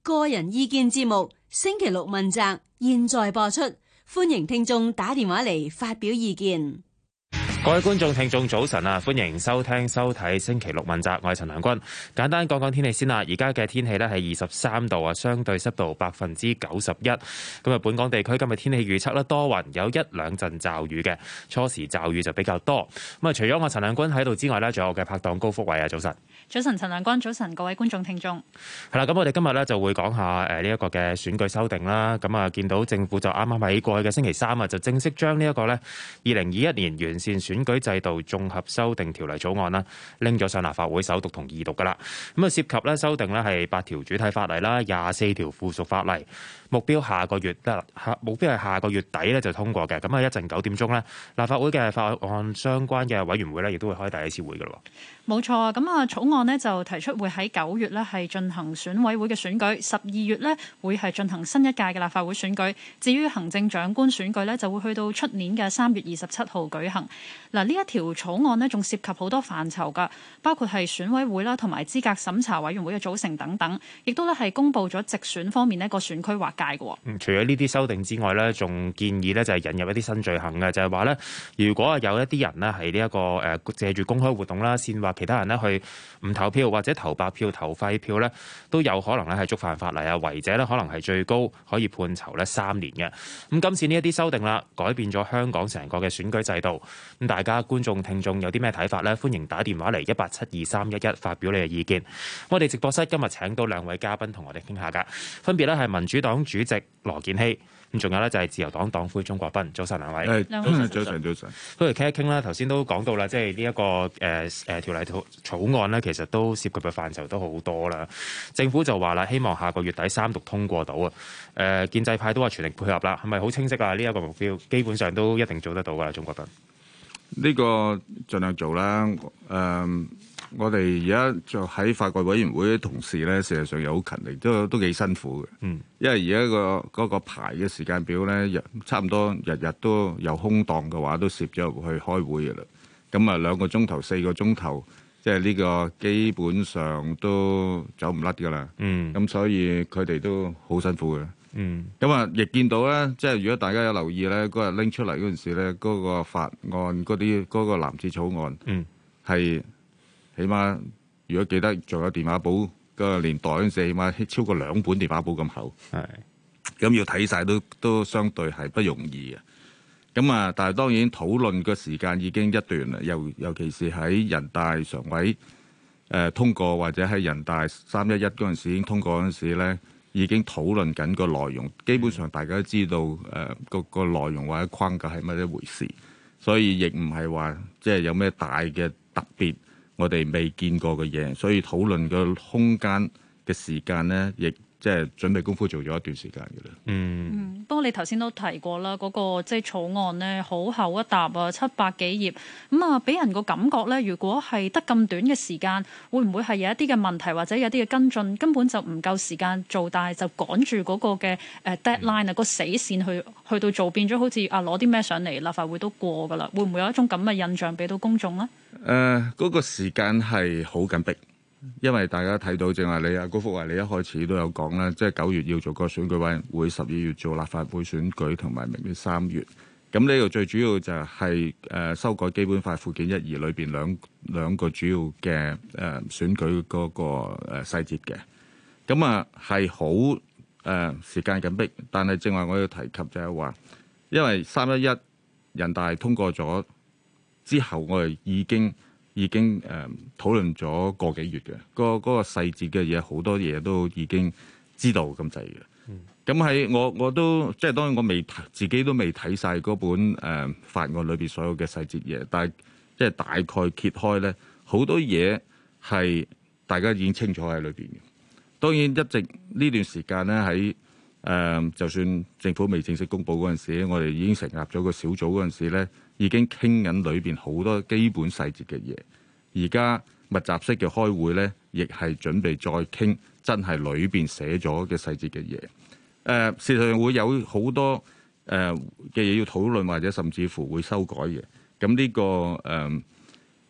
個人意見節目星期六問責，現在播出，歡迎聽眾打電話嚟發表意見。 各位觀眾聽眾早晨啊，歡迎收聽收睇星期六問責，我係陳良君。簡單講講天氣先啦，而家嘅天氣呢係23度啊，相對濕度91%。咁啊，本港地區今日天氣預測咧多雲，有一兩陣驟雨嘅，初時驟雨就比較多。咁啊，除咗我陳良君喺度之外呢，仲有我嘅拍檔高福偉啊，早晨。 早晨，陳良君，早晨，各位觀眾聽眾。 係啦，咁我哋今日呢就會講下呢一個嘅選舉修訂啦。咁啊，見到政府就啱啱喺過去嘅星期三啊，就正式將呢一個呢2021年完善選舉制度綜合修訂條例草案啦，拎咗上立法會首讀同二讀噶啦。咁啊，涉及咧修訂咧係8條主體法例啦，24條附屬法例。目標係下個月底咧就通過嘅。咁啊，一陣9點鐘咧，立法會嘅法案相關嘅委員會咧，亦都會開第一次會噶咯。 冇錯啊，咁啊草案呢就提出會喺9月咧係進行選委會嘅選舉，12月咧會係進行新一屆嘅立法會選舉。至於行政長官選舉咧，就會去到出年嘅3月27號舉行。嗱，呢一條草案呢仲涉及好多範疇噶，包括係選委會啦，同埋資格審查委員會嘅組成等等，亦都咧係公布咗直選方面呢個選區劃界嘅。 除咗呢啲修訂之外咧，仲建議咧就係引入一啲新罪行嘅，就係話咧，如果有一啲人呢係呢一個借住公開活動啦，煽惑其他人呢去唔投票或者投白票、投廢票咧，都有可能咧係觸犯法例啊，違者咧可能係最高可以判囚咧3年嘅。咁今次呢一啲修訂啦，改變咗香港成個嘅選舉制度。咁大家觀眾聽眾有啲咩睇法呢？歡迎打電話嚟1872311發表你嘅意見。我哋直播室今日請到2位嘉賓同我哋傾下㗎，分別咧係民主黨主席羅健熙，咁仲有咧就係自由黨黨魁鍾國斌。早晨2位。 早晨。 不如傾一傾啦。頭先都講到啦，即係呢一個條例草案呢，其實都涉及嘅範疇都好多啦。政府就話啦，希望下個月底3讀通過到啊。建制派都話全力配合啦，係咪好清晰啊？呢一個目標基本上都一定做得到㗎啦，鍾國斌。 呢個盡量做啦。我哋而家就喺法改委員會嘅同事咧，事實上又好勤力，都幾辛苦嘅。因為而家嗰個排嘅時間表咧，差唔多日日都有空檔嘅話，都攝咗入去開會嘅啦。咁啊2個鐘頭、4個鐘頭，即係呢個基本上都走唔甩㗎啦。咁所以佢哋都好辛苦嘅。咁啊，亦見到咧，即係如果大家有留意咧，嗰日拎出嚟嗰陣時咧，嗰個法案嗰個藍紙草案，係起碼如果記得仲有電話簿個年代嗰陣時，起碼超過2本電話簿咁厚。咁要睇晒都相對係不容易嘅。咁啊，但係當然討論嘅時間已經一段啦，尤其是喺人大常委通過或者喺人大311嗰陣時已經通過嗰陣時咧。已經討論緊個內容，基本上大家都知道個內容或者框架係乜一回事，所以亦唔係話即係有咩大嘅特別，我哋未見過嘅嘢，所以討論個空間嘅時間呢，亦即係準備功夫做咗一段時間嘅啦。 不過你頭先都提過啦，嗰個即係草案呢，好厚一沓啊，700幾頁，咁啊，俾人個感覺呢，如果係得咁短嘅時間，會唔會係有一啲嘅問題或者有啲嘅跟進，根本就唔夠時間做，但係就趕住嗰個嘅deadline啊，個死線去到做，變咗好似攞啲咩上嚟立法會都過㗎啦，會唔會有一種咁嘅印象俾到公眾呢？ 嗰個時間係好緊迫。因為大家睇到，正話你高福華，你一開始都有講啦，即係9月要做個選舉委員會，12月做立法會選舉，同埋明年3月。咁呢個最主要就係修改基本法附件1、2裏邊兩個主要嘅選舉嗰個細節嘅。咁啊係好時間緊迫，但係正話我要提及就係話，因為311人大通過咗之後，我哋已經討論咗個幾月嘅，嗰個細節嘅嘢好多嘢都已經知道咁滯嘅。咁喺我都即係當然我自己都未睇晒嗰本法案裏邊所有嘅細節嘢，但係即係大概揭開咧，好多嘢係大家已經清楚喺裏邊嘅。當然一直呢段時間咧喺就算政府未正式公佈嗰陣時，我哋已經成立咗個小組嗰陣時咧，已經傾緊裏邊好多基本細節嘅嘢。而家密集式嘅開會咧，亦係準備再傾真係裏邊寫咗嘅細節嘅嘢。事實上會有好多嘅嘢要討論，或者甚至乎會修改嘅。咁呢個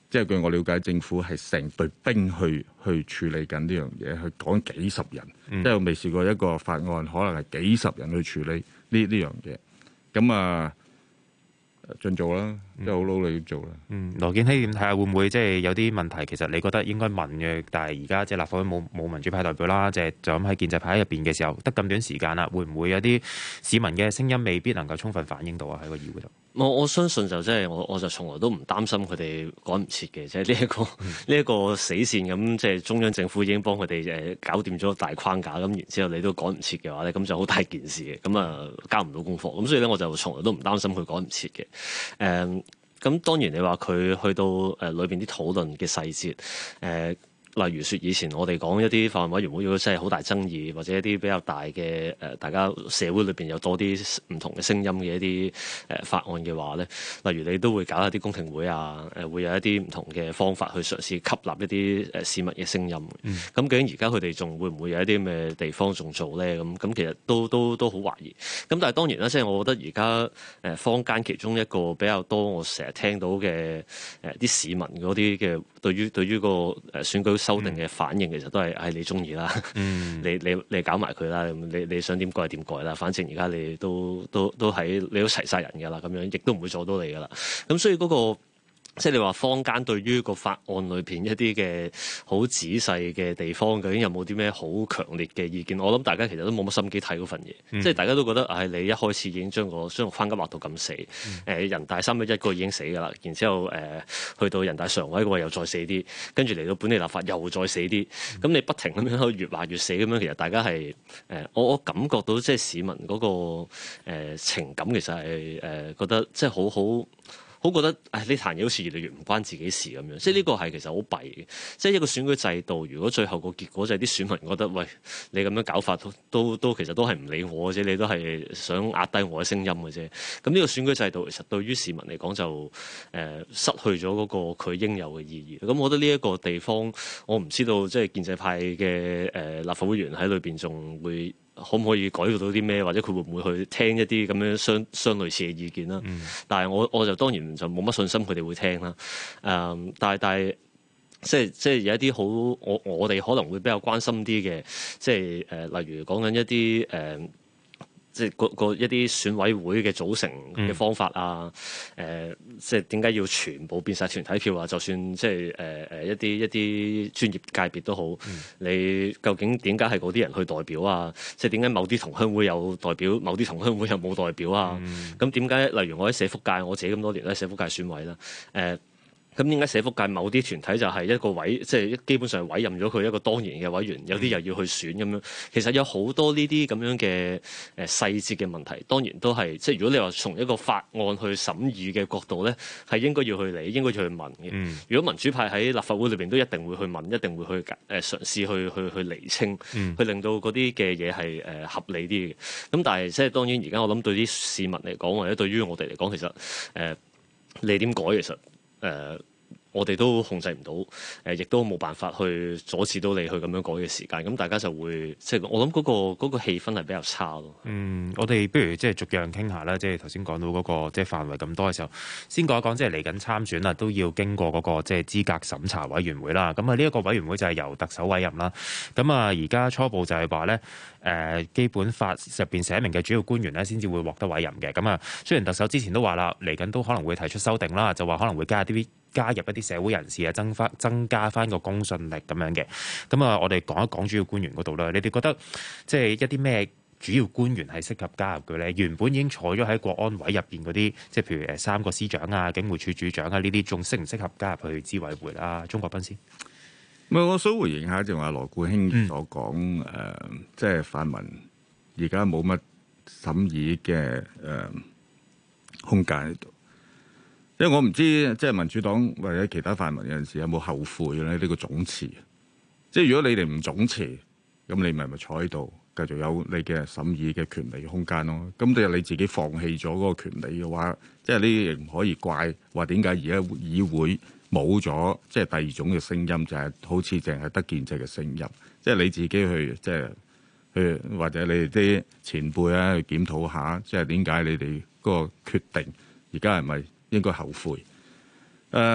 即係據我了解，政府係成隊兵去處理緊呢樣嘢，去講幾十人，即係我未試過一個法案可能係幾十人去處理呢樣嘢。咁啊，盡做啦，即係好努力要做啦。 羅健熙點睇下會唔會即係有啲問題？其實你覺得應該問嘅，但係而家即係立法會冇民主派代表啦，就咁喺建制派入邊嘅時候，得咁短時間啦，會唔會有啲市民嘅聲音未必能夠充分反映到啊？喺個議會度， 我相信就即係我就從來都唔擔心佢哋趕唔切嘅，即係呢一個死線咁，即係中央政府已經幫佢哋搞掂咗大框架，咁然之後你都趕唔切嘅話咧，咁就好大件事嘅，咁啊交唔到功課，咁所以咧我就從來都唔擔心佢趕唔切嘅。咁當然你話佢去到裏邊啲討論嘅細節例如說以前我哋講一啲法案委員會如果真係好大爭議，或者一啲比較大嘅大家社會裏邊有多啲唔同嘅聲音嘅一啲法案嘅話咧，例如你都會搞一啲公聽會啊，會有一啲唔同嘅方法去嘗試吸納一啲市民嘅聲音。咁究竟而家佢哋仲會唔會有一啲咩地方仲做咧？咁其實都好懷疑。咁但係當然啦，即係我覺得而家坊間其中一個比較多我成日聽到嘅啲市民嗰啲嘅對於個選舉修訂嘅反應，其實都係你中意啦，你搞埋佢啦，你想點改點改啦，反正而家你都喺你都齊晒人㗎啦，咁樣亦都唔會阻到你㗎啦。咁所以嗰個即係你話坊間對於個法案裏邊一啲嘅好仔細嘅地方，究竟有冇啲咩好強烈嘅意見？我諗大家其實都冇乜心機睇嗰份嘢，即係大家都覺得你一開始已經將個框架畫到咁死，人大311個已經死㗎啦，然之後去到人大常委嗰個又再死啲，跟住嚟到本地立法又再死啲，咁你不停咁樣越畫越死咁樣，其實大家係我感覺到即係市民嗰個情感其實係覺得即係好覺得呢壇嘢好似越嚟越唔關自己事咁樣，即係呢個係其實好弊嘅。即係一個選舉制度，如果最後個結果就係啲選民覺得，喂，你咁樣搞法都其實都係唔理我嘅啫，你都係想壓低我嘅聲音嘅啫。咁呢個選舉制度其實對於市民嚟講就失去咗嗰個佢應有嘅意義。咁我覺得呢一個地方，我唔知道即係建制派嘅立法會議員喺裏邊仲會可唔可以改到啲咩，或者佢會唔會去聽一啲咁樣相類似嘅意見啦？但係我就當然就冇乜信心佢哋會聽啦。但係即係有一啲好我哋可能會比較關心啲嘅，即係例如講緊一啲即係一啲選委會嘅組成嘅方法啊，即係點解要全部變晒團體票啊？就算即係一啲專業界別都好，你究竟點解係嗰啲人去代表啊？即係點解某啲同鄉會有代表，某啲同鄉會又冇代表啊？咁點解例如我喺社福界，我自己咁多年都係社福界選委啦，咁點解社福界某啲團體就係一個即係基本上委任咗佢一個當然嘅委員，有啲又要去選咁樣。其實有好多呢啲咁樣嘅細節嘅問題，當然都係即係如果你話從一個法案去審議嘅角度咧，係應該要去理，應該要去問嘅。如果民主派喺立法會裏邊都一定會去問，一定會去嘗試去釐清，去令到嗰啲嘅嘢係合理啲嘅。咁但係即係當然而家我諗對啲市民嚟講，或者對於我哋嚟講，其實你點改其實我哋都控制唔到，亦都冇辦法去阻止到你去咁樣改嘅時間。咁大家就會即係我諗嗰個氣氛係比較差咯。 我哋不如即係逐樣傾下啦。即係頭先講到嗰個即係範圍咁多嘅時候，先講一講即係嚟緊參選啦，都要經過嗰個即係資格審查委員會啦。咁啊呢一個委員會就係由特首委任啦。咁啊而家初步就係話咧，基本法入邊寫明嘅主要官員咧先至會獲得委任嘅。咁啊雖然特首之前都話啦，嚟緊都可能會提出修訂啦，就話可能會加入一啲社會人士啊，增加翻個公信力咁樣嘅。咁啊，我哋講一講主要官員嗰度啦。你哋覺得即係一啲咩主要官員係適合加入嘅咧？原本已經坐咗喺國安委入邊嗰啲，即係譬如3個司長啊、警務處處長啊呢啲，仲適唔適合加入去資委會啦？鍾國斌先。 我想回應下就話羅冠興所講，即係泛民而家冇乜審議嘅空間喺度。因為我唔知即係民主黨或者其他泛民有陣時有冇後悔咧呢個總辭。即係如果你哋唔總辭，咁你咪坐喺度繼續有你嘅審議嘅權利空間咯。咁你自己放棄咗嗰個權利嘅話，即係呢啲亦唔可以怪話點解而家議會冇咗即係第二種嘅聲音，就係好似淨係得建制嘅聲音。即係你自己去即係去或者你哋啲前輩啊去檢討下，即係點解你哋嗰個決定而家係咪應該後悔？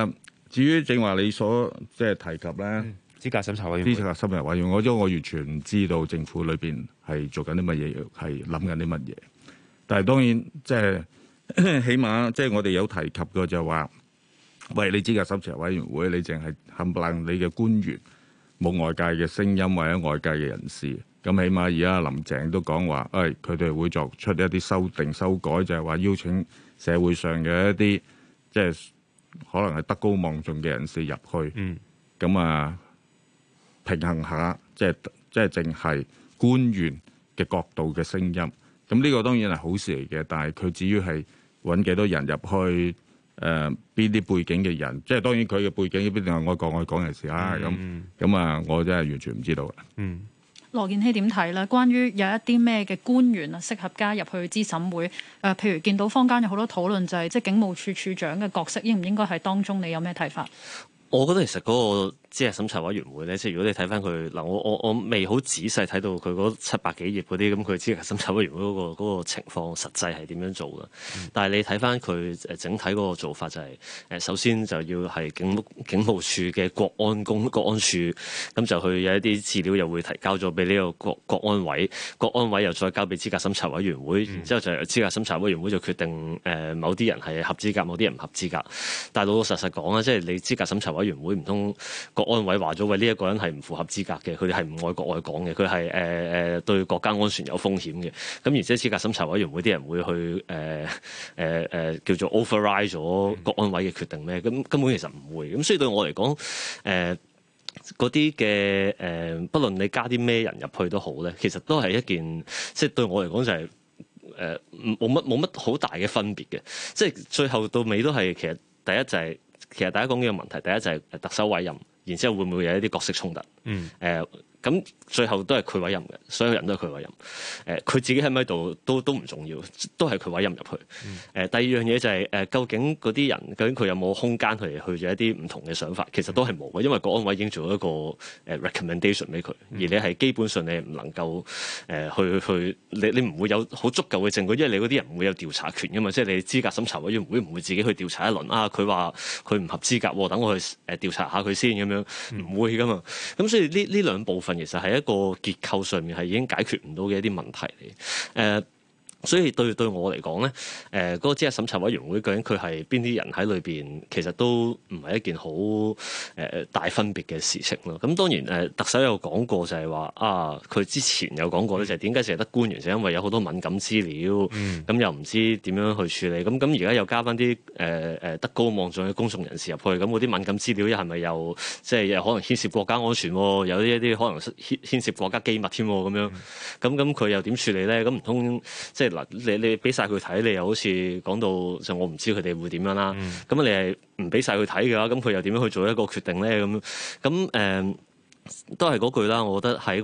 至於正話你所即係提及咧， 資格審查委員會， 資格審查委員會，我完全唔知道政府裏邊係做緊啲乜嘢，係諗緊啲乜嘢。但係當然即係起碼即係我哋有提及過就話，喂，你資格審查委員會，你淨係冚唪唥你嘅官員，冇外界嘅聲音或者外界嘅人士。咁起碼而家林鄭都講話，佢哋會作出一啲修訂修改，就係話邀請社會上嘅一啲即係可能係德高望重嘅人士入去，咁啊平衡下，即係淨係官員嘅角度嘅聲音。咁呢個當然係好事嚟嘅，但係佢至於係揾幾多人入去，邊啲背景嘅人，即係當然佢嘅背景必定係愛港人士啦。咁啊，我真係完全唔知道嘅。 羅健熙點睇咧？關於有一啲咩嘅官員啊，適合加入去資審會？譬如見到坊間有好多討論，就係即係警務處處長嘅角色應唔應該喺當中？你有咩睇法？ 我覺得其實嗰個資格審查委員會咧，即係如果你睇翻佢嗱，我未好仔細睇到佢嗰700幾頁嗰啲咁，佢資格審查委員會嗰個情況實際係點樣做嘅？但係你睇翻佢整體嗰個做法就係首先就要係警務處嘅國安處，咁就去有一啲資料又會提交咗俾呢個國安委，國安委又再交俾資格審查委員會，然之後就由資格審查委員會就決定某啲人係合資格，某啲人唔合資格。但係老老實實講啊，即係你資格審查委員會唔通國安委話咗喂，呢一個人係唔符合資格嘅，佢哋係唔愛國愛港嘅，佢係對國家安全有風險嘅。咁而且資格審查委員會啲人會去叫做 override 咗國安委嘅決定咩？咁根本其實唔會。咁所以對我嚟講，嗰啲嘅不論你加啲咩人入去都好咧，其實都係一件即係對我嚟講就係冇乜好大嘅分別嘅。即係最後到尾都係其實第一就係、其實大家講呢個問題，第一就係特首委任。然之後會唔會有一啲角色衝突？咁最後都係佢委任嘅，所有人都係佢委任。佢自己喺咪度都唔重要，都係佢委任入去。第二樣嘢就係究竟嗰啲人究竟佢有冇空間去做一啲唔同嘅想法？其實都係冇嘅，因為國安委已經做咗一個recommendation 俾佢，而你係基本上你唔能夠你唔會有好足夠嘅證據，因為你嗰啲人唔會有調查權㗎嘛。即係你資格審查委員會唔會自己去調查一輪啊？佢話佢唔合資格，等我去調查下佢先咁樣，唔會㗎嘛。咁所以呢兩部分其實係一個結構上面係已經解決唔到嘅一啲問題嚟。所以對我嚟講咧，嗰個資格審查委員會究竟佢係邊啲人喺裏邊，其實都唔係一件好大分別嘅事情咯。咁當然特首有講過就係話佢之前有講過咧，就係點解淨係得官員，就因為有好多敏感資料，咁又唔知點樣去處理。咁而家又加翻啲德高望重嘅公眾人士入去，咁嗰啲敏感資料係咪又即係又可能牽涉國家安全，有一啲可能牽涉國家機密添咁樣？咁佢又點處理咧？咁唔通即係？嗱，你俾晒佢睇，你又好似講到就我唔知佢哋會點樣啦。咁你係唔俾晒佢睇嘅話，咁佢又點樣去做一個決定咧？咁都係嗰句啦。我覺得喺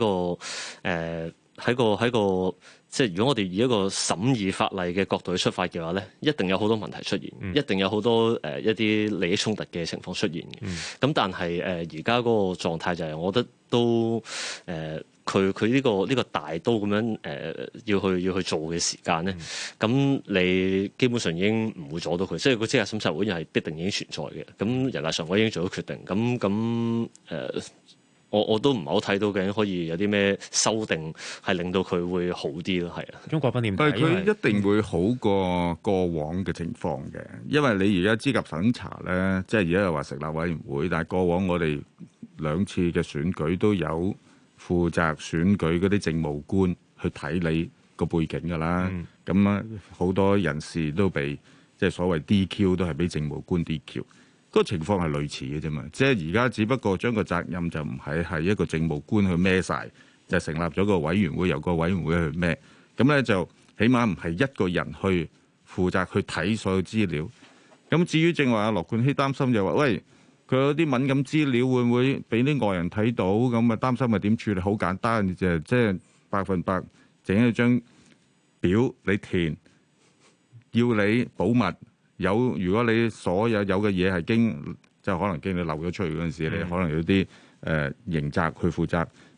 個即係如果我哋以一個審議法例嘅角度去出發嘅話咧，一定有好多問題出現，一定有好多一啲利益衝突嘅情況出現嘅。咁但係而家嗰個狀態就係，我覺得都佢呢個大刀咁樣要去做嘅時間咧，咁你基本上已經唔會阻到佢，即係個資格審查會係必定已經存在嘅。咁人大常委已經做咗決定，咁我都唔係好睇到究竟可以有啲咩修訂係令到佢會好啲咯，係啊。鍾國斌點睇？ 但係佢一定會好過過往嘅情況嘅，因為你而家資格審查咧，即係而家又話成立委員會，但係過往我哋2次嘅選舉都有負責選舉嗰啲政務官去睇你個背景㗎啦。咁好多人士都被即係所謂 DQ 都係俾政務官 DQ。個情況係類似嘅啫嘛，即係而家只不過將個責任就唔係一個政務官去孭晒，就成立咗個委員會，由個委員會去孭。咁咧就起碼唔係一個人去負責去睇所有資料。咁至於正話阿羅冠熙擔心就話，喂，佢有啲敏感資料會唔會俾啲外人睇到？咁啊擔心係點處理？好簡單，就即係100%整一張表你填，要你保密。如果你所有嘅嘢係可能經你漏咗出去嗰陣時，你可能有啲刑責去負責。咁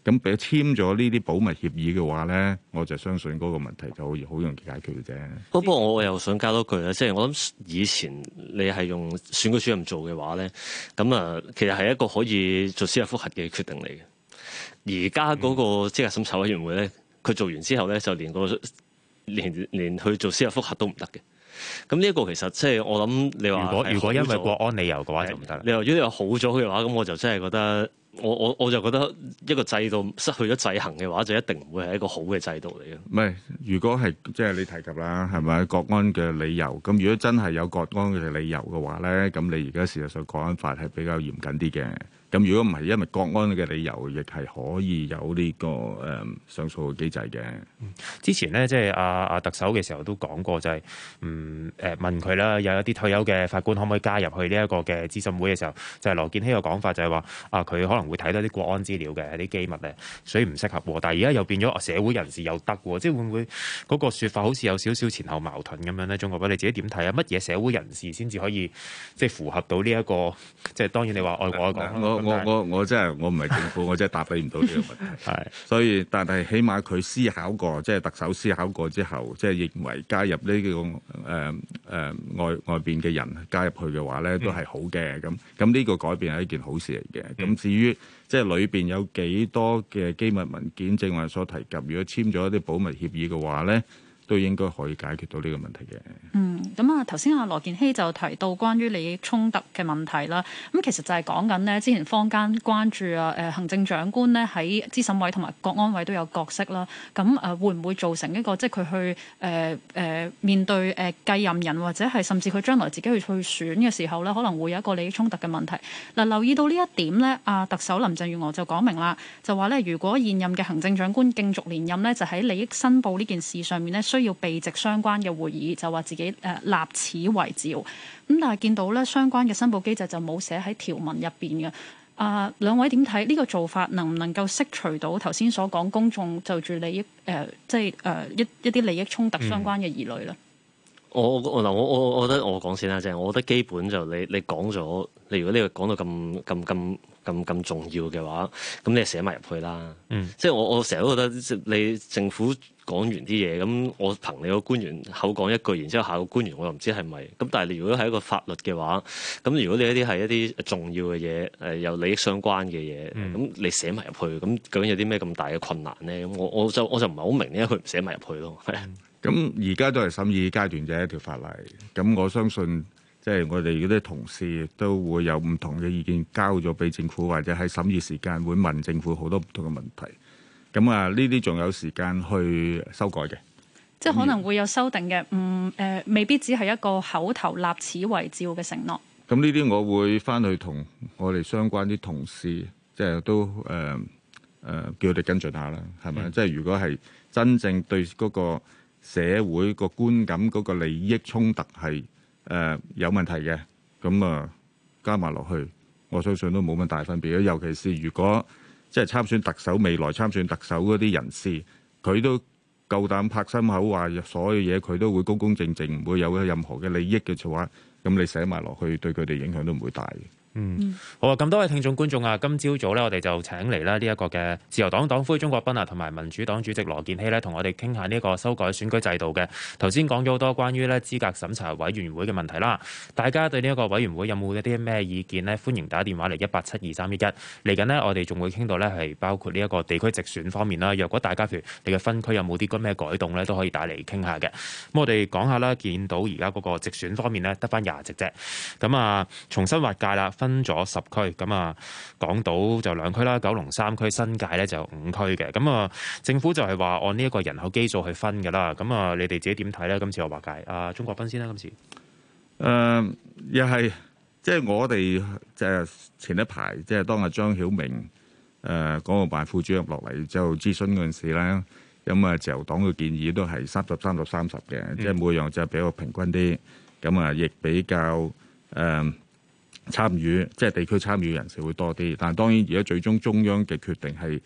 咁俾簽咗呢啲保密協議嘅話咧，我就相信嗰個問題就可以好容易解決嘅啫。 不過我又想加多句咧，即係我諗以前你係用選舉主任做嘅話咧，咁啊其實係一個可以做司法覆核嘅決定嚟嘅。而家嗰個資格審查委員會咧，佢做完之後咧，就連去做司法覆核都唔得嘅。咁呢一個其實即係我諗你話， 如果因為國安理由嘅話就唔得啦。 你話如果你話好咗嘅話，咁我就真係覺得。我就覺得一個制度失去咗制衡嘅話，就一定唔會係一個好嘅制度嚟嘅。 唔係，如果係即係你提及啦，係咪國安嘅理由？咁如果真係有國安嘅理由嘅話咧，咁你而家事實上國安法係比較嚴謹啲嘅。咁如果唔係因為國安嘅理由，亦係可以有呢個上訴嘅機制嘅。 之前咧，即係阿特首嘅時候都講過，就係問佢啦，有一啲退休嘅法官可唔可以加入去呢一個嘅諮詢會嘅時候，就係羅健熙嘅講法就係話佢可能會睇到啲國安資料嘅啲機密咧，所以唔適合。但係而家又變咗社會人士又得喎，即係會唔會嗰個説法好似有少少前後矛盾咁樣咧？鍾國斌你自己點睇啊？乜嘢社會人士先至可以即係符合到呢一個？即係當然你話愛國愛港。 我真係我唔係政府，我真係答你唔到呢個問題。係，所以但係起碼佢思考過，即係特首思考過之後，即係認為加入呢個外邊嘅人加入去嘅話咧，都係好嘅。咁呢個改變係一件好事嚟嘅。咁至於即係裏邊有幾多嘅機密文件，正話所提及，如果簽咗一啲保密協議嘅話咧，都應該可以解決到呢個問題嘅。 咁啊頭先阿羅健熙就提到關於利益衝突嘅問題啦。咁其實就係講緊呢，之前坊間關注行政長官呢喺資審委同埋國安委都有角色啦。咁會唔會造成一個即係佢去面對繼任人或者係甚至佢將來自己去選嘅時候呢，可能會有一個利益衝突嘅問題。嗱，留意到呢一點呢，特首林鄭月娥就講明啦，就話呢，如果現任嘅行政長官競逐連任呢，就喺利益申報呢件事上面呢，需要備席相關嘅會議，就話自己立此為照。咁但係見到咧，相關嘅申報機制就冇寫喺條文入邊嘅。兩位點睇呢個做法？能唔能夠釋除到頭先所講公眾就住利益即係一啲利益衝突相關嘅疑慮咧？ 我覺得我講先啦，即係我覺得基本就你講咗，你如果呢個講到咁重要嘅話，咁你寫埋入去啦。即係我成日都覺得你政府講完啲嘢，咁我憑你個官員口講一句，然之後下個官員我又唔知係咪。咁但係你如果係一個法律嘅話，咁如果你一啲係一啲重要嘅嘢，有利益相關嘅嘢，咁你寫埋入去，咁究竟有啲咩咁大嘅困難咧？咁我就唔係好明點解佢唔寫埋入去咯。 咁而家都係審議階段嘅一條法例，咁我相信即係我哋嗰啲同事都會有唔同嘅意見交咗俾政府，或者喺審議時間會問政府好多唔同嘅問題。咁呢啲仲有時間去修改嘅， 即係可能會有修訂嘅，未必只係一個口頭立此為照嘅承諾。 咁呢啲我會翻去同我哋相關啲同事，即係都叫佢哋跟進下啦，係咪？即係如果係真正對嗰個社會個觀感嗰個利益衝突係有問題嘅，咁加埋落去，我相信都冇乜大分別。尤其是如果即係參選特首，未來參選特首嗰啲人士，佢都夠膽拍心口話所有嘢佢都會公公正正，唔會有任何嘅利益嘅話，咁你寫埋落去，對佢哋影響都唔會大嘅。 好啊！咁多位聽眾觀眾啊，今朝早咧，我哋就請嚟啦呢一個嘅自由黨黨魁鍾國斌啊，同埋民主黨主席羅健熙咧，同我哋傾下呢一個修改選舉制度嘅。頭先講咗好多關於咧資格審查委員會嘅問題啦，大家對呢一個委員會有冇一啲咩意見呢？歡迎打電話嚟1872311。嚟緊呢，我哋仲會傾到咧係包括呢一個地區直選方面啦。若果大家譬如你嘅分區有冇啲咩改動咧，都可以打嚟傾下嘅。咁我哋講下啦，見到而家嗰個直選方面咧得返20席啫。咁重新劃界啦。分咗10區，咁港島就2區啦，九龍3區，新界咧就5區嘅。咁政府就係話按呢一個人口基數去分㗎啦。咁你哋自己點睇咧？今次我劃界，鍾國斌先啦。今次又係即係我哋即係前一排即係當日張曉明港澳辦副主任落嚟就諮詢嗰陣時咧，咁自由黨嘅建議都係30、30、30嘅，即係每樣就比較平均啲。咁亦比較參與即係地區參與人士會多啲，但係當然而家最終中央嘅決定係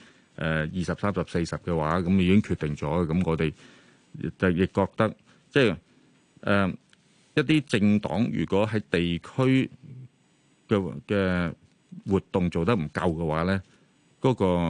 20、30、40嘅話，咁已經決定咗。咁我哋就亦覺得即係一啲政黨如果喺地區嘅活動做得唔夠嘅話咧，嗰個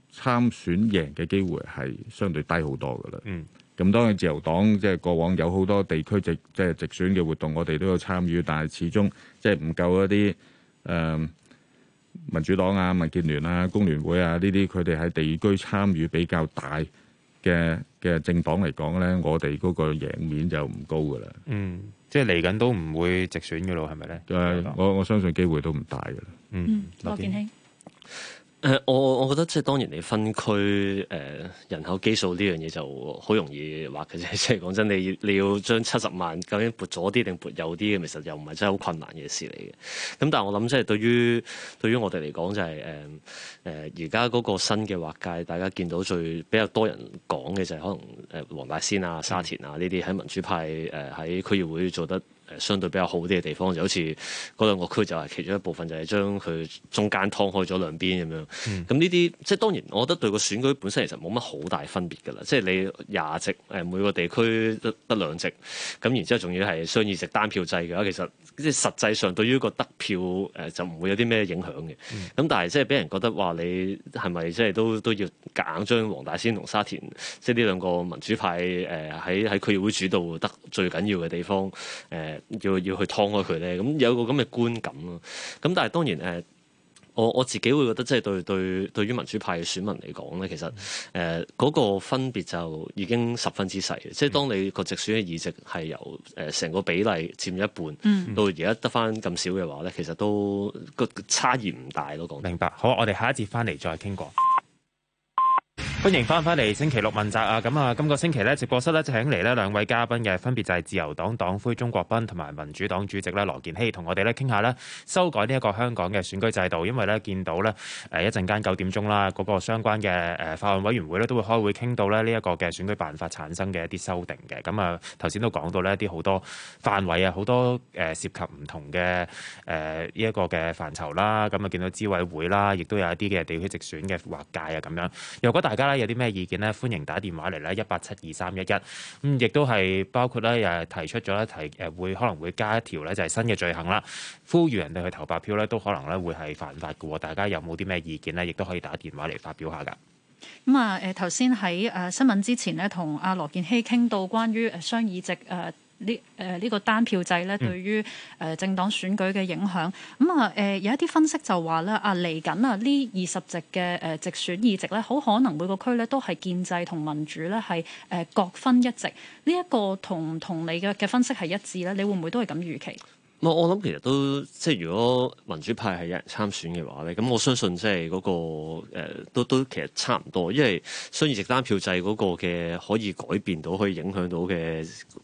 參選贏嘅機會係相對低好多噶啦。咁當然自由黨即係過往有好多地區即係直選嘅活動，我哋都有參與，但係始終即係唔夠一啲民主黨啊、民建聯啊、工聯會啊呢啲，佢哋喺地區參與比較大嘅政黨嚟講咧，我哋嗰個贏面就唔高噶啦。 即係嚟緊都唔會直選嘅咯，係咪咧？ 我相信機會都唔大噶啦。 羅健熙。 我覺得即係當然你分區人口基數呢樣嘢就好容易話嘅啫。即係講真，你要將70萬究竟撥左啲定撥右啲嘅，其實又唔係真係好困難嘅事嚟嘅。咁但係我諗即係對於我哋嚟講就係而家嗰個新嘅劃界，大家見到比較多人講嘅就係可能黃大仙啊、沙田啊呢啲喺民主派喺區議會做得相對比較好啲嘅地方，就好似嗰兩個區就係其中一部分，就係將佢中間劏開咗兩邊咁樣。咁呢啲即係當然，我覺得對個選舉本身其實冇乜好大分別㗎啦。即係你20席每個地區得2席，咁然之後仲要係雙議席單票制嘅話，其實即係實際上對於個得票就唔會有啲咩影響嘅。咁但係即係俾人覺得話你係咪即係都要夾硬將黃大仙同沙田即係呢兩個民主派喺區議會主導得最緊要嘅地方要去劏開佢咧？咁有個咁嘅觀感咯。咁但係當然我自己會覺得即係對於民主派嘅選民嚟講咧，其實嗰個分別就已經十分之細嘅。即係當你個直選嘅議席係由成個比例佔咗一半，到而家得翻咁少嘅話咧，其實都個差異唔大咯。講明白。好，我哋下一節翻嚟再傾過。歡迎翻嚟星期六問責啊！咁啊，今個星期咧直播室咧請嚟呢兩位嘉賓嘅，分別就係自由黨黨魁鍾國斌同埋民主黨主席咧羅健熙，同我哋咧傾下咧修改呢一個香港嘅選舉制度。因為咧見到咧一陣間9點鐘啦，嗰個相關嘅法案委員會咧都會開會傾到咧呢一個嘅選舉辦法產生嘅一啲修訂嘅。咁啊頭先都講到呢一啲好多範圍啊，好多涉及唔同嘅呢一個嘅範疇啦。咁啊見到資委會啦，亦都有一啲嘅地區直選嘅劃界啊咁樣。如果大家有啲咩意見呢？歡迎打電話嚟咧1872311。咁亦都係包括咧提出咗可能會加一條咧就係新嘅罪行啦，呼籲人哋去投白票咧都可能咧會係犯法嘅。大家有冇啲咩意見呢？亦都可以打電話嚟發表下㗎。 咁啊頭先喺新聞之前呢，同阿羅健熙傾到關於雙議席呢個單票制咧，對於政黨選舉嘅影響。有一啲分析就話咧嚟緊呢20席嘅直選議席咧，好可能每個區咧都係建制同民主咧係各分一席。呢一個同你嘅分析係一致咧？你會唔會都係咁預期？ 我諗其實都即係如果民主派係有人參選嘅話咧，咁我相信即係嗰個都其實差唔多，因為雙議席單票制嗰個嘅可以改變到、可以影響到嘅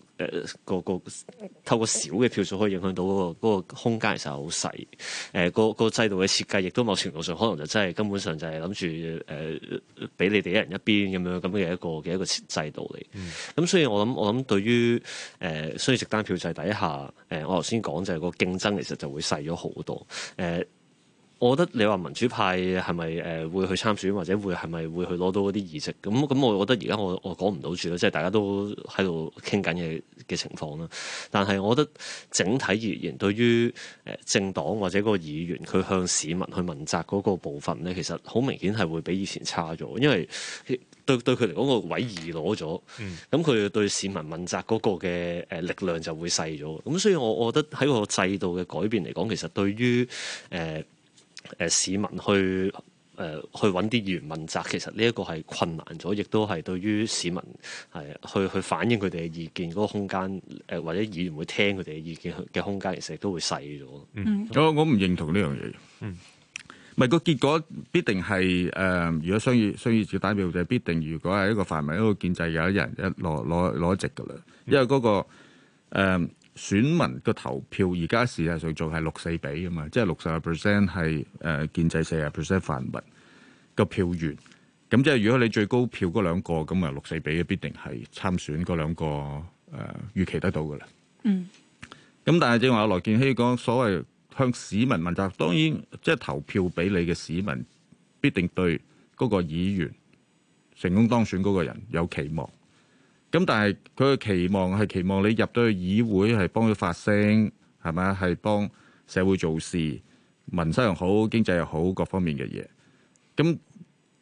透過少嘅票數可以影響到嗰個空間，其實係好細。個制度嘅設計亦都某程度上可能就真係根本上就係諗住俾你哋一人一邊咁嘅一個制度嚟。咁所以我諗對於雙議席單票制底下，我頭先講就係個競爭其實就會細咗好多。我覺得你話民主派係咪會去參選，或者係咪會去攞到嗰啲議席？咁我覺得而家我講唔到住啦，即係大家都喺度傾緊嘅情況啦。但係我覺得整體而言，對於政黨或者嗰個議員佢向市民去問責嗰個部分咧，其實好明顯係會比以前差咗，因為對佢嚟講個位移攞咗，咁佢對市民問責嗰個嘅力量就會細咗。咁所以我覺得喺個制度嘅改變嚟講，其實對於市民去揾啲議員問責，其實呢一個係困難咗，亦都係對於市民係去反映佢哋嘅意見嗰個空間，或者議員會聽佢哋嘅意見嘅空間，其實亦都會細咗。 我唔認同呢樣嘢。唔係個結果必定係如果雙議席單票就必定，如果係一個泛民一個建制有一人攞一席㗎啦，因為嗰個選民個投票而家事實上仲係6-4比啊嘛，即係60% 係建制，40% 泛民個票源。咁即係如果你最高票嗰兩個咁啊6-4比，必定係參選嗰兩個預期得到㗎啦。咁但係正話阿羅健熙講所謂向市民問責，當然即係投票俾你嘅市民必定對嗰個議員成功當選嗰個人有期望。咁但係佢嘅期望係期望你入到去議會係幫佢發聲，係咪啊？係幫社會做事，民生又好，經濟又好，各方面嘅嘢。咁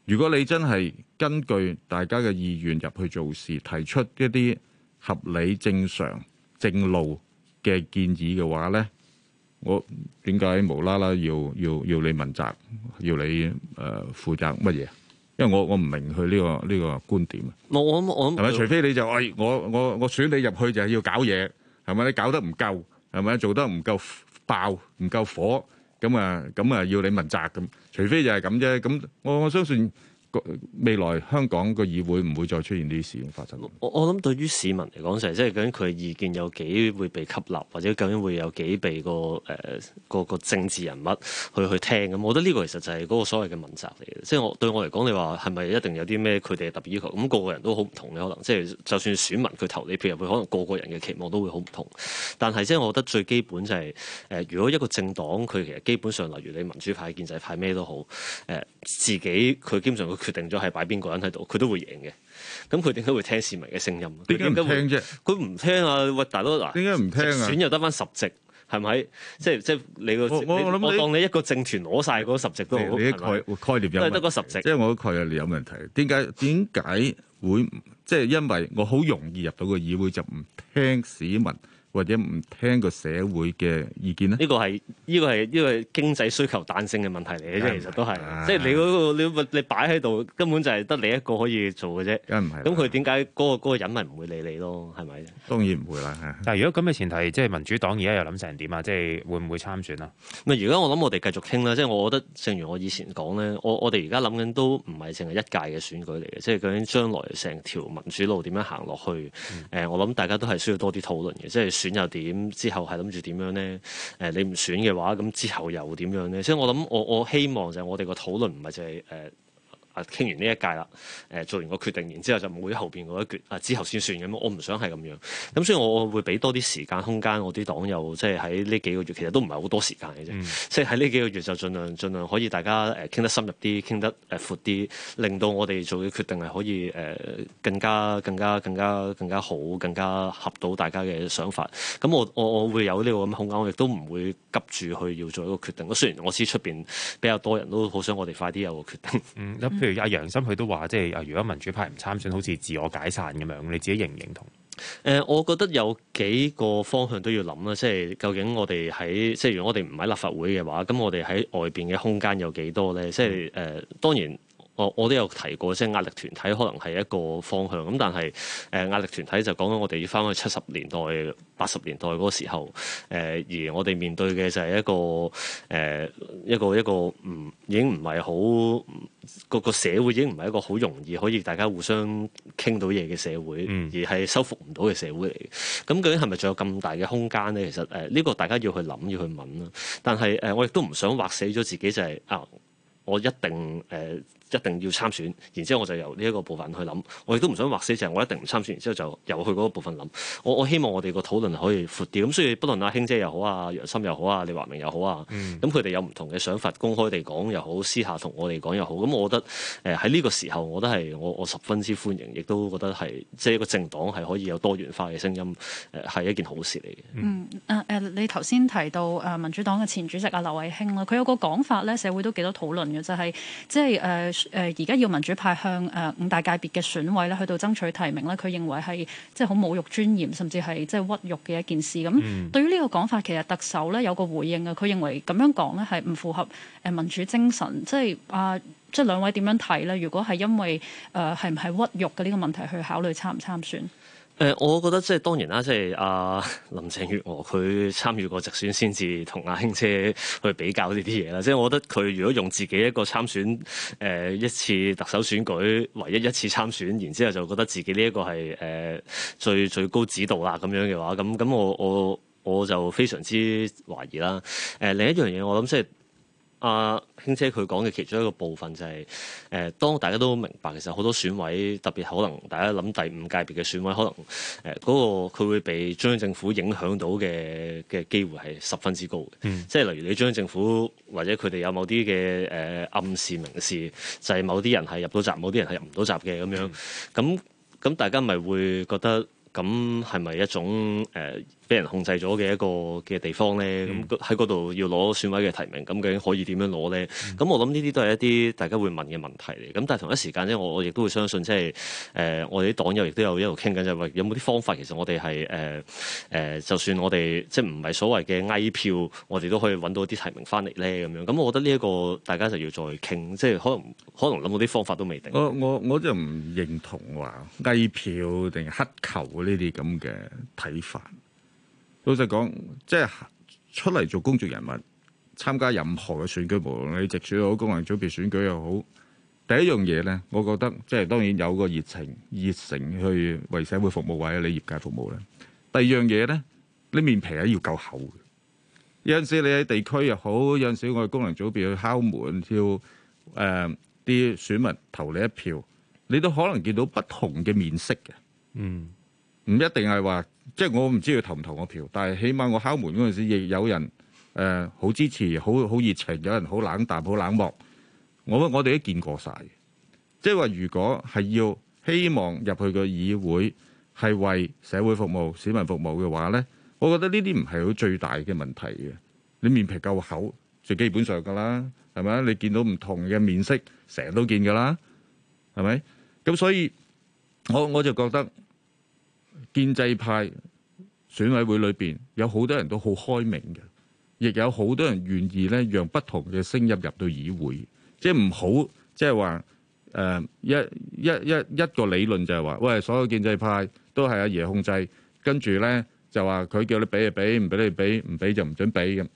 如果你真係根據大家嘅意願入去做事，提出一啲合理、正常、正路嘅建議嘅話咧，我點解無啦啦要你問責，要你負責乜嘢？因為我唔明佢呢個觀點。 我係咪？除非你就我選你入去就係要搞嘢，係咪？你搞得唔夠，係咪？做得唔夠爆，唔夠火，咁啊要你問責咁。除非就係咁啫。咁我相信未來香港個議會唔會再出現呢啲事情發生。 我諗對於市民嚟講就係即係究竟佢嘅意見有幾會被吸納，或者究竟會有幾被個政治人物去聽咁。我覺得呢個其實就係嗰個所謂嘅問責嚟嘅。即係對我嚟講，你話係咪一定有啲咩佢哋嘅特別要求？咁個個人都好唔同嘅，可能即係就算選民佢投你票入去，可能個個人嘅期望都會好唔同。但係即係我覺得最基本就係如果一個政黨佢其實基本上例如你民主派、建制派咩都好，自己佢基本上佢決定咗係擺邊個人喺度，佢都會贏嘅。咁佢點解會聽市民嘅聲音？ 點解唔聽啫？ 佢唔聽啊！喂，大佬嗱， 點解唔聽啊？ 選又得翻10席，係咪？即係你個我當你一個政團攞晒嗰10席都好， 你啲概念有都係得嗰10席。 即係我個概念有問題。點解會即係因為我好容易入到個議會就唔聽市民或者唔聽個社會嘅意見咧？呢個係經濟需求彈性嘅問題嚟嘅啫，其實都係。即係你嗰個你擺喺度，根本就係得你一個可以做嘅啫。 梗唔係。 咁佢點解嗰個人咪唔會理你咯？係咪？ 當然唔會啦。 但係如果咁嘅前提，即係民主黨而家又諗成點啊？即係會唔會參選啊？ 咪而家我諗我哋繼續傾啦。即係我覺得，正如我以前講咧，我哋而家諗緊都唔係淨係一屆嘅選舉嚟嘅，即係究竟將來成條民主路點樣行落去？我諗大家都係需要多啲討論嘅，即係。選又點？之後係諗住點樣咧？你唔選嘅話，咁之後又點樣咧？所以我諗，我希望就係我哋個討論唔係就係傾完呢一屆啦，做完個決定，然之後就冇後邊嗰一橛，之後先算咁。我唔想係咁樣，咁所以我會俾多啲時間空間我啲黨友，即係喺呢幾個月，其實都唔係好多時間嘅啫。即係喺呢幾個月就盡量可以大家傾得深入啲，傾得闊啲，令到我哋做嘅決定係可以更加好，更加合到大家嘅想法。咁我會有呢個咁嘅空間，我亦都唔會急住去要做一個決定。雖然我知出邊比較多人都好想我哋快啲有個決定。 譬如阿楊森佢都話，即係如果民主派唔參選，好似自我解散咁樣，你自己認唔認同？ 我覺得有幾個方向都要諗啦，即係究竟我哋即係如果我哋唔喺立法會嘅話，咁我哋喺外邊嘅空間有幾多咧？即係當然。我都有提過，即係壓力團體可能係一個方向咁，但係壓力團體就講緊我哋要翻去70年代、80年代嗰個時候，而我哋面對嘅就係一個已經唔係好個社會已經唔係一個好容易可以大家互相傾到嘢嘅社會，而係修復唔到嘅社會嚟嘅。咁究竟係咪仲有咁大嘅空間咧？其實呢個大家要去諗，要去問啦。但係我亦都唔想劃死咗自己，就係我一定要參選，然之後我就由呢一個部分去諗。我亦都唔想劃死，就係我一定唔參選，然之後就由去嗰個部分諗。我希望我哋個討論可以闊啲。咁所以不論阿卿姐又好啊、楊森又好啊、李華明又好啊，咁佢哋有唔同嘅想法，公開地講又好，私下同我哋講又好。咁我覺得喺呢個時候，我覺得係我十分之歡迎，亦都覺得係即係一個政黨係可以有多元化嘅聲音，係一件好事嚟嘅。 你頭先提到民主黨嘅前主席劉慧卿啦，佢有個講法咧，社會都幾多討論嘅，就係即係而家要民主派向5大界別嘅選委咧去到爭取提名咧，佢認為係即係好侮辱尊嚴，甚至係即係屈辱嘅一件事。咁對於呢個講法，其實特首咧有個回應啊，佢認為咁樣講咧係唔符合民主精神。即係兩位點樣睇咧？如果係因為係唔係屈辱嘅呢個問題去考慮參唔參選？ 我覺得即係當然啦，即係林鄭月娥佢參與過直選先至同阿卿姐去比較呢啲嘢啦。即係我覺得佢如果用自己一個參選一次特首選舉唯一一次參選，然之後就覺得自己呢一個係最高指導啦咁樣嘅話，咁我就非常之懷疑啦。另一樣嘢我諗即係。卿姐佢講嘅其中一個部分就係當大家都明白，其實好多選委特別可能大家諗第5界別嘅選委，可能嗰個佢會被中央政府影響到嘅機會係十分之高嘅。即係例如你中央政府或者佢哋有某啲嘅暗示明示，就係某啲人係入到閘，某啲人係入唔到閘嘅咁樣。咁大家咪會覺得咁係咪一種俾人控制咗嘅一個嘅地方咧，咁喺嗰度要攞選委嘅提名，咁究竟可以點樣攞咧？咁我諗呢啲都係一啲大家會問嘅問題嚟。咁但係同一時間咧，我亦都會相信，即係我哋啲黨友亦都有一路傾緊，就係話有冇啲方法，其實我哋係就算我哋即係唔係所謂嘅翳票，我哋都可以揾到啲提名翻嚟咧咁樣。咁我覺得呢一個大家就要再傾，即係可能諗到啲方法都未定。 我就唔認同話翳票定乞求呢啲咁嘅睇法。老實講，即係出嚟做公眾人物，參加任何嘅選舉，無論你直選又好，功能組別選舉又好，第一樣嘢咧，我覺得即係當然有個熱誠去為社會服務或者你業界服務咧。第二樣嘢咧，你面皮係要夠厚嘅。有陣時你喺地區又好，有陣時我哋功能組別去敲門，要啲選民投你一票，你都可能見到不同嘅面色嘅。唔一定係話。即係我唔知佢投唔投我票，但係起碼我敲門嗰陣時，亦有人好支持，好熱情，有人好冷淡、好冷漠。我哋都見過晒。即係話，如果係要希望入去個議會係為社會服務、市民服務嘅話咧，我覺得呢啲唔係好最大嘅問題嘅。你面皮夠厚，最基本上㗎啦，係咪？你見到唔同嘅面色，成日都見㗎啦，係咪？咁所以我就覺得。建制派選委會裏邊有好多人都好開明嘅，亦有好多人願意咧讓不同嘅聲音入到議會，即係唔好即係話一個理論就係話，喂，所有建制派都係阿爺控制，跟住咧就話佢叫你俾就俾，唔俾你俾，唔俾就唔準俾咁。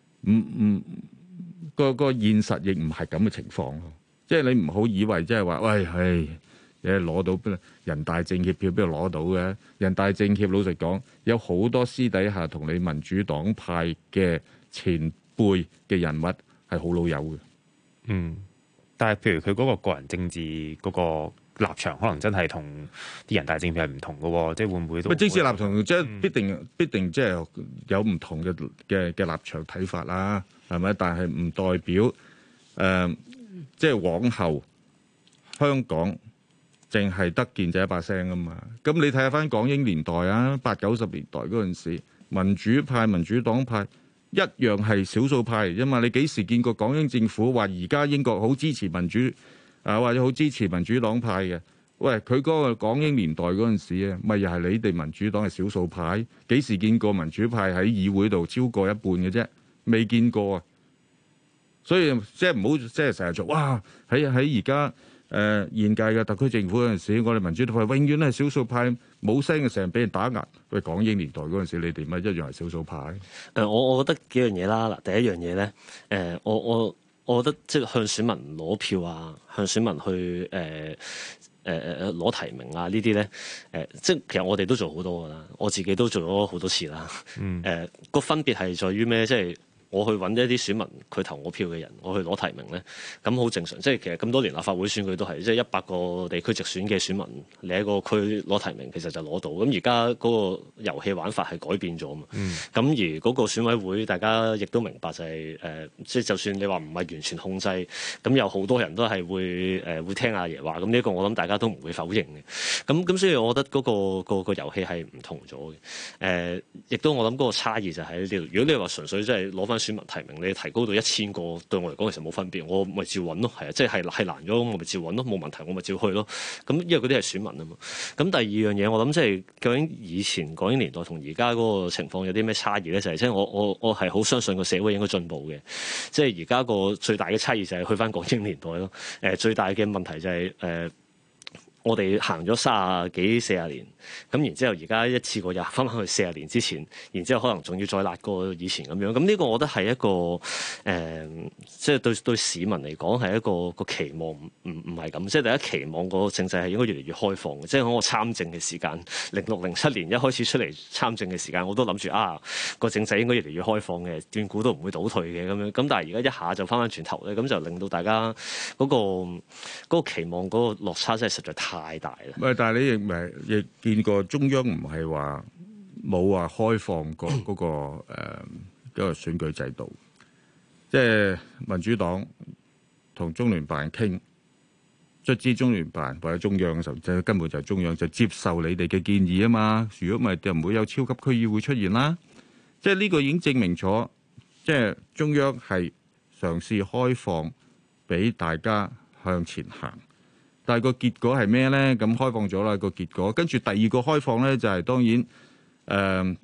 個現實亦唔係咁嘅情況咯，即係你唔好以為即係話，喂係。你攞到人大政協票邊度攞到嘅？人大政協老實講，有好多私底下同你民主黨派嘅前輩嘅人物係好老友嘅。 但係譬如佢嗰個個人政治嗰個立場，可能真係同啲人大政協係唔同嘅喎，即係會唔會都？政治立場即係必定即係有唔同嘅立場睇法啦，係咪？但係唔代表即係往後香港。淨係得建制一把聲啊嘛，咁你睇下翻港英年代啊，80、90年代嗰陣時，民主派、民主黨派一樣係少數派嚟啫嘛。你幾時見過港英政府話而家英國好支持民主啊，或者好支持民主黨派嘅？喂，佢嗰個港英年代嗰陣時啊，咪又係你哋民主黨係少數派？幾時見過民主派喺議會度超過一半嘅啫？未見過啊！所以即係唔好即係成日做哇喺而家。現屆嘅特區政府嗰陣時，我哋民主派永遠都係少數派，冇聲嘅，成日俾人打壓。喂，港英年代嗰陣時，你哋咪一樣係少數派？ 我覺得幾樣嘢啦。嗱，第一樣嘢咧，我覺得即係向選民攞票啊，向選民去攞提名啊，呢啲咧即係其實我哋都做好多噶啦，我自己都做咗好多次啦。個分別係在於咩？即係。我去揾一啲選民，佢投我票嘅人，我去攞提名咧，咁好正常。即係其實咁多年立法會選舉都係，即係100個地區直選嘅選民，你喺個區攞提名，其實就攞到。咁而家嗰個遊戲玩法係改變咗嘛。咁而嗰個選委會，大家亦都明白就係即係就算你話唔係完全控制，咁有好多人都係會聽阿爺話。咁呢一個我諗大家都唔會否認嘅。咁所以我覺得嗰個遊戲係唔同咗嘅。亦都我諗嗰個差異就喺呢度。如果你話純粹即係攞翻選民提名，你提高到1000個，對我嚟講其實冇分別，我咪照揾咯，係啊，即係難咗，我咪照揾咯，冇問題，我咪照去咯。咁因為嗰啲係選民啊嘛。咁第二樣嘢，我諗即係究竟以前港英年代同而家嗰個情況有啲咩差異咧？就係即係我係好相信個社會應該進步嘅。即係而家個最大嘅差異就係去翻港英年代咯。最大嘅問題就係我哋行咗30幾40年，咁然之後而家一次過又翻返去40年之前，然之後可能仲要再辣過以前咁樣。咁呢個我覺得係一個即係對市民嚟講係一個期望，唔係咁。即係大家期望個政制係應該越嚟越開放嘅。即係喺我參政嘅時間，06、07年一開始出嚟參政嘅時間，我都諗住個政制應該越嚟越開放嘅，斷估都唔會倒退嘅咁樣。咁但係而家一下就翻返轉頭咧，咁就令到大家嗰個期望嗰個落差真係實在太大啦！ 喂，但係你亦見過中央唔係話冇話開放過嗰個選舉制度，即係民主黨同中聯辦傾， 卒之中聯辦或者中央嘅時候，就根本就係中央就接受你哋嘅建議啊嘛。如果唔係，就唔會有超級區議會出現啦。即係呢個已經證明咗，即係中央係嘗試開放俾大家向前行。但係個結果係咩咧？咁開放咗啦，個結果，跟住第二個開放咧就係、是、當然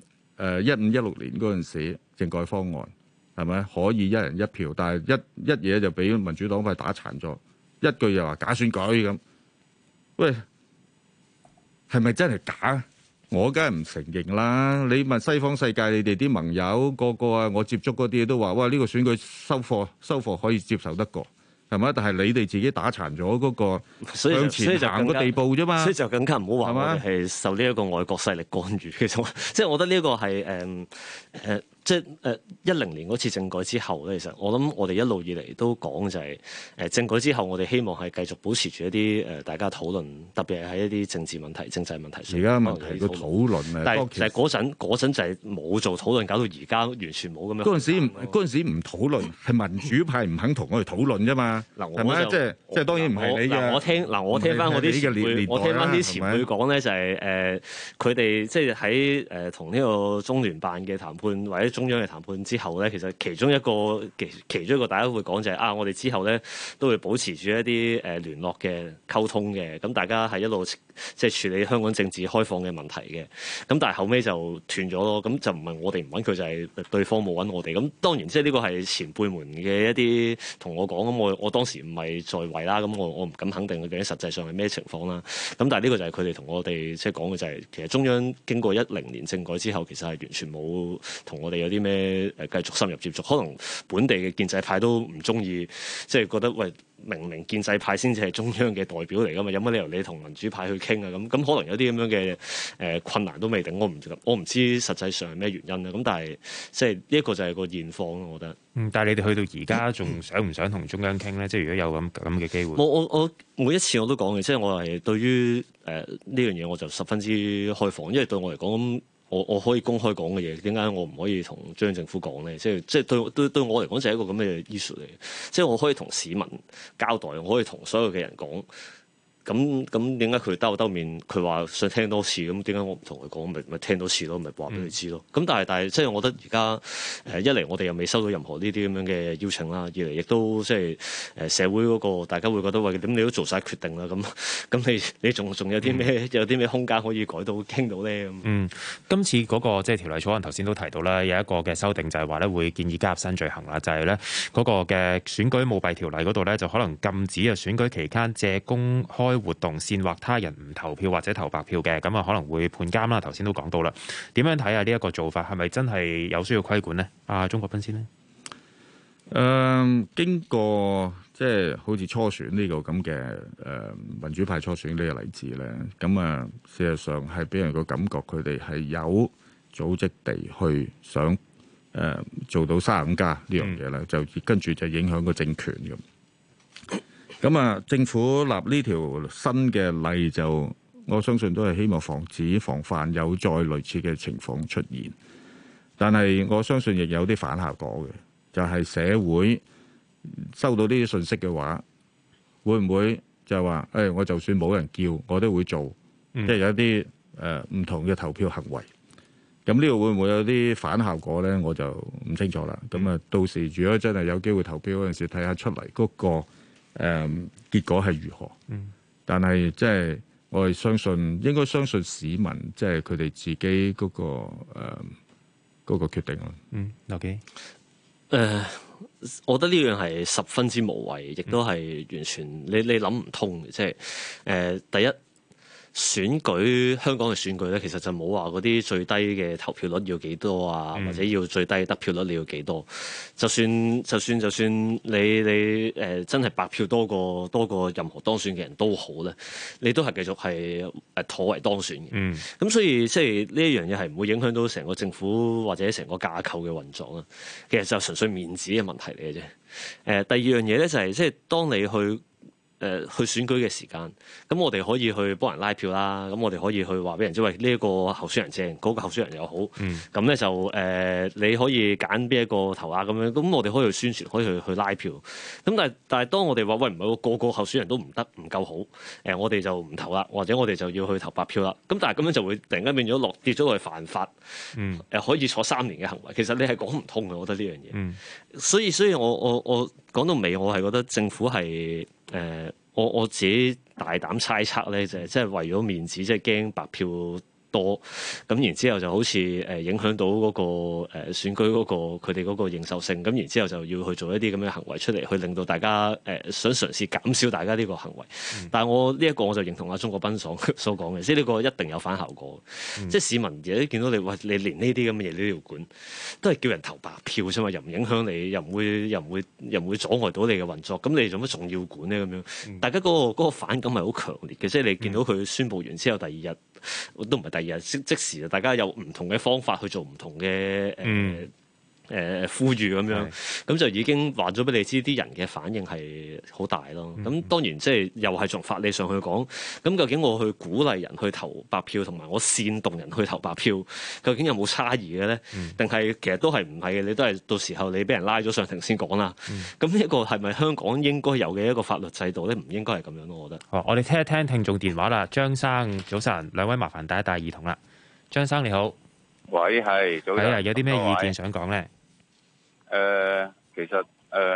15-16年嗰陣時政改方案係咪可以一人一票？但係一嘢就俾民主黨派打殘咗。一句又話假選舉咁，喂，係咪真係假？我梗係唔承認啦！你問西方世界，你哋啲盟友個個啊，我接觸嗰啲都話：哇，呢個選舉收貨可以接受得過，係咪？但係你哋自己打殘咗嗰個向前行個地步啫嘛， 所以就更加唔好話我哋係受呢一個外國勢力干預。其實即係我覺得呢一個係即係10年嗰次政改之後咧，其實我諗我哋一路以嚟都講就係政改之後，我哋希望係繼續保持住一啲大家討論，特別係喺一啲政治問題、政制問題上。 而家問題個討論啊， 但係嗰陣就係冇做討論，搞到而家完全冇咁樣。 嗰陣時唔討論，係民主派唔肯同我哋討論啫嘛。係咪？即係當然唔係你嘅。 我聽翻我啲前輩，我聽翻啲前輩講咧，就係佢哋即係喺同呢個中聯辦嘅談判或者中央嘅談判之後咧，其實其中一個大家會講就係我哋之後咧都會保持住一啲聯絡嘅溝通嘅，咁大家係一路即係處理香港政治開放嘅問題嘅，咁但係後尾就斷咗咯，咁就唔係我哋唔揾佢，就係對方冇揾我哋。咁當然即係呢個係前輩們嘅一啲同我講，咁我當時唔係在位啦，咁我唔敢肯定究竟實際上係咩情況啦。咁但係呢個就係佢哋同我哋即係講嘅就係，其實中央經過10年政改之後，其實係完全冇同我哋有啲咩繼續深入接觸，可能本地嘅建制派都唔中意，即係覺得喂，明明建制派先至係中央嘅代表嚟噶嘛，有乜理由你同民主派去傾啊？咁可能有啲咁樣嘅困難都未定，我唔知實際上係咩原因啦。咁但係即係呢一個就係個現況咯，我覺得。 但係你哋去到而家仲想唔想同中央傾咧？即係如果有咁嘅機會， 我每一次我都講嘅，即係我係對於呢樣嘢我就十分之開放，因為對我嚟講我可以公開講嘅嘢，點解我唔可以同中央政府講咧？即係對我嚟講就係一個咁嘅 issue 嚟嘅，即係我可以同市民交代，我可以同所有嘅人講。咁點解佢兜面？佢話想聽多次，咁點解我唔同佢講？咪聽多次咯，咪話俾佢知咯。咁但係即係我覺得而家一嚟我哋又未收到任何呢啲咁樣嘅邀請啦，二嚟亦都即係社會嗰個大家會覺得喂，咁你都做晒決定啦，咁你仲有啲咩空間可以改到傾到咧？ 今次嗰個即係條例草案頭先都提到啦，有一個嘅修訂就係話咧會建議加入新罪行啦，就係咧嗰個嘅選舉舞弊條例嗰度咧就可能禁止啊選舉期間借公開活動煽惑他人唔投票或者投白票嘅，咁啊可能會判監啦。頭先都講到啦，點樣睇下呢一個做法係咪真係有需要規管呢？鍾國斌先呢？ 經過即係好似初選呢個咁嘅民主派初選呢個例子咧，咁啊事實上係俾人個感覺佢哋係有組織地去想做到35+呢樣嘢咧，就跟住就影響個政權咁。咁啊，政府立呢條新嘅例就，我相信都係希望防範有再類似嘅情況出現。但係我相信亦有啲反效果嘅，就係社會收到呢啲信息嘅話，會唔會就話我就算冇人叫，我都會做，即係有啲唔同嘅投票行為。咁呢度會唔會有啲反效果咧？我就唔清楚啦。咁啊，到時如果真係有機會投票嗰陣時，睇下出嚟嗰個結果係如何？但係即係我哋應該相信市民，即係佢哋自己嗰個決定咯。 OK。 我覺得呢樣係十分之無謂，亦都係完全你諗唔通嘅。即係第一。香港嘅選舉咧，其實就冇話嗰啲最低嘅投票率要幾多啊，或者要最低得票率你要幾多？就算你真係白票多過任何當選嘅人都好咧，你都係繼續係妥為當選嘅。咁所以即係呢一樣嘢係唔會影響到成個政府或者成個架構嘅運作啦。其實就純粹面子嘅問題嚟嘅啫。第二樣嘢咧就係即係當你去去選舉嘅時間，咁我哋可以去幫人拉票啦，咁我哋可以去話俾人知，喂呢一個候選人正，嗰個候選人又好，咁咧就你可以揀邊一個投啊咁樣，咁我哋可以去宣傳，可以去拉票。咁但係當我哋話喂唔係個個候選人都唔得唔夠好，我哋就唔投啦，或者我哋就要去投白票啦。咁但係咁樣就會突然間變咗跌咗落去犯法，可以坐3年嘅行為。其實你係講唔通嘅，我覺得呢樣嘢。所以我講到尾，我係覺得政府係我自己大膽猜測咧，就係即係為咗面子，即係驚白票多，咁然之後就好似影響到嗰個選舉嗰個佢哋嗰個認受性，咁然之後就要去做一啲咁嘅行為出嚟，去令到大家想嘗試減少大家呢個行為。但係我呢一個我就認同阿鍾國斌所講嘅，即係呢個一定有反效果。即係市民而家見到你，喂你連呢啲咁嘅嘢都要管，都係叫人投白票啫嘛，又唔影響你，又唔會阻礙到你嘅運作，咁你做乜仲要管咧？咁樣大家嗰個反感係好強烈嘅，即係你見到佢宣佈完之後，第2日都唔係第2日，即時大家有唔同嘅方法去做唔同嘅呼籲咁樣，咁就已經話咗俾你知，啲人嘅反應係好大咯。咁當然即係又係從法理上去講，咁究竟我去鼓勵人去投白票，同埋我煽動人去投白票，究竟有冇差異嘅咧？定係其實都係唔係嘅？你都係到時候你俾人拉咗上庭先講啦。咁呢一個係咪香港應該有嘅一個法律制度咧？唔應該係咁樣咯，我覺得。 好，我哋聽一聽聽眾電話啦。張生早晨，兩位麻煩帶一帶耳筒啦。張生你好， 喂，係早晨。 係啊，有啲咩意見想講咧？ 其實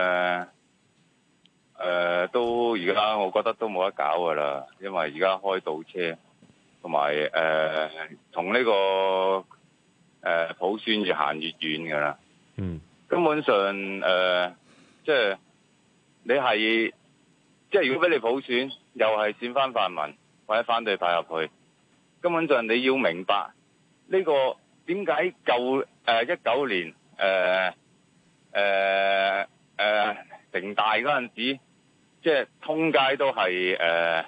都而家我覺得都冇得搞噶啦，因為而家開倒車，同埋同呢個普選越行越遠噶啦。根本上即係你係即係如果俾你普選，又係選翻泛民或者反對派入去，根本上你要明白呢個點解舊19年城大嗰陣時，即係通街都係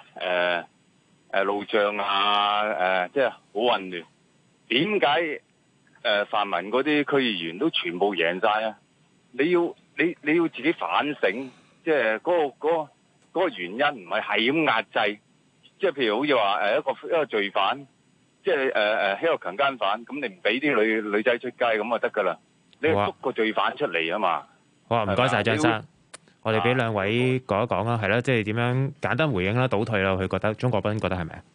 路障啊，即係好混亂。點解泛民嗰啲區議員都全部贏晒啊？你要自己反省，即係嗰個原因唔係咁壓制。即係譬如好似話一個罪犯，即係一個強姦犯，咁你唔俾啲女仔出街咁就得㗎啦。你捉個罪犯出嚟啊嘛！ 好啊，唔該晒張生，我哋俾兩位講一講啦，係啦，即係點樣簡單回應啦，倒退啦，佢覺得鍾國斌覺得係咪啊？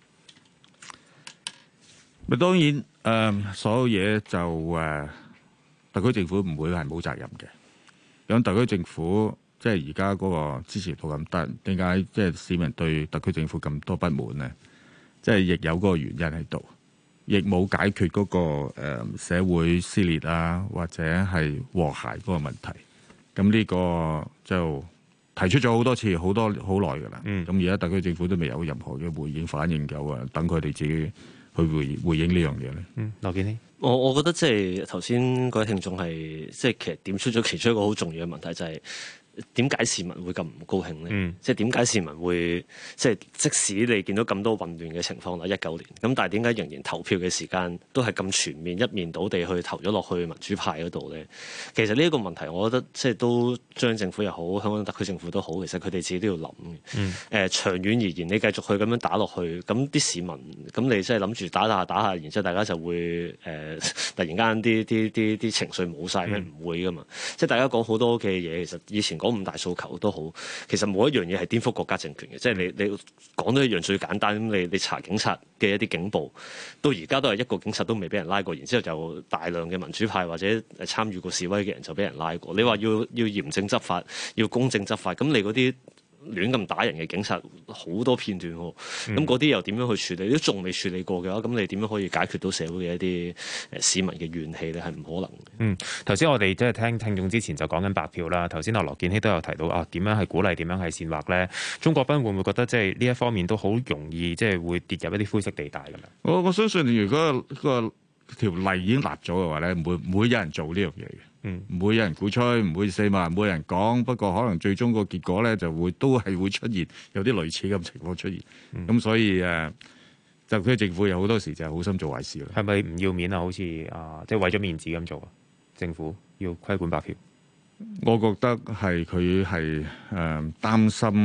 咪當然所有嘢就特區政府唔會係冇責任嘅。咁特區政府即係而家嗰個支持度咁低，點解即係市民對特區政府咁多不滿呢？即係亦有嗰個原因喺度。亦冇解決嗰個社會撕裂啊，或者係和諧嗰個問題。咁呢個就提出咗好多次，好耐㗎啦。咁而家特區政府都未有任何嘅回應反應夠啊，等佢哋自己去回應呢樣嘢咧。 羅健熙， 我覺得即係頭先嗰位聽眾係即係其實點出咗其中一個好重要嘅問題，就係點解市民會咁唔高興咧？即係點解市民會即使你見到咁多混亂嘅情況啦，19年咁，但係點解仍然投票嘅時間都係咁全面一面倒地去投咗落去民主派嗰度咧？其實呢一個問題，我覺得即係都中央政府又好，香港特區政府都好，其實佢哋自己都要諗嘅。長遠而言，你繼續去咁樣打落去，咁啲市民咁你即係諗住打下，然之後大家就會突然間啲情緒冇晒咩？唔會噶嘛。即係大家講好多嘅嘢，其實以前講5大訴求都好，其實冇一樣嘢係顛覆國家政權嘅。即係你講到一樣最簡單，咁你查警察嘅一啲警暴，到而家都係一個警察都未俾人拉過，然之後就大量嘅民主派或者參與過示威嘅人就俾人拉過。你話要嚴正執法，要公正執法，咁你嗰啲亂咁打人嘅警察好多片段喎，咁嗰啲又點樣去處理？都仲未處理過嘅話，咁你點樣可以解決到社會嘅一啲市民嘅怨氣咧？係唔可能嘅。 頭先我哋即係聽眾之前就講緊白票啦。頭先羅健熙都有提到點樣係鼓勵，點樣係煽惑咧？鍾國斌會唔會覺得即係呢一方面都好容易即係會跌入一啲灰色地帶咁樣？ 我相信如果個條例已經立咗嘅話咧，唔會有人做呢樣嘢嘅。唔會有人鼓吹，唔會四萬，唔會有人講。不過可能最終個結果咧，都係會出現有啲類似咁情況出現。咁所以特區政府有好多時就係好心做壞事啦。 係咪唔要面啊？好似即係為咗面子咁做啊？政府要規管白票， 我覺得係佢係擔心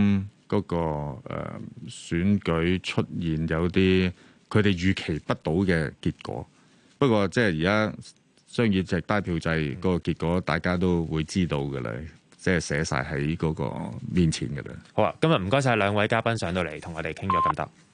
嗰個選舉出現有啲佢哋預期不到嘅結果。不過即係而家雙議席單票制嗰個結果，大家都會知道嘅啦，即係寫晒喺嗰個面前嘅啦。 好啊，今日唔該晒兩位嘉賓上到嚟同我哋傾咗咁多。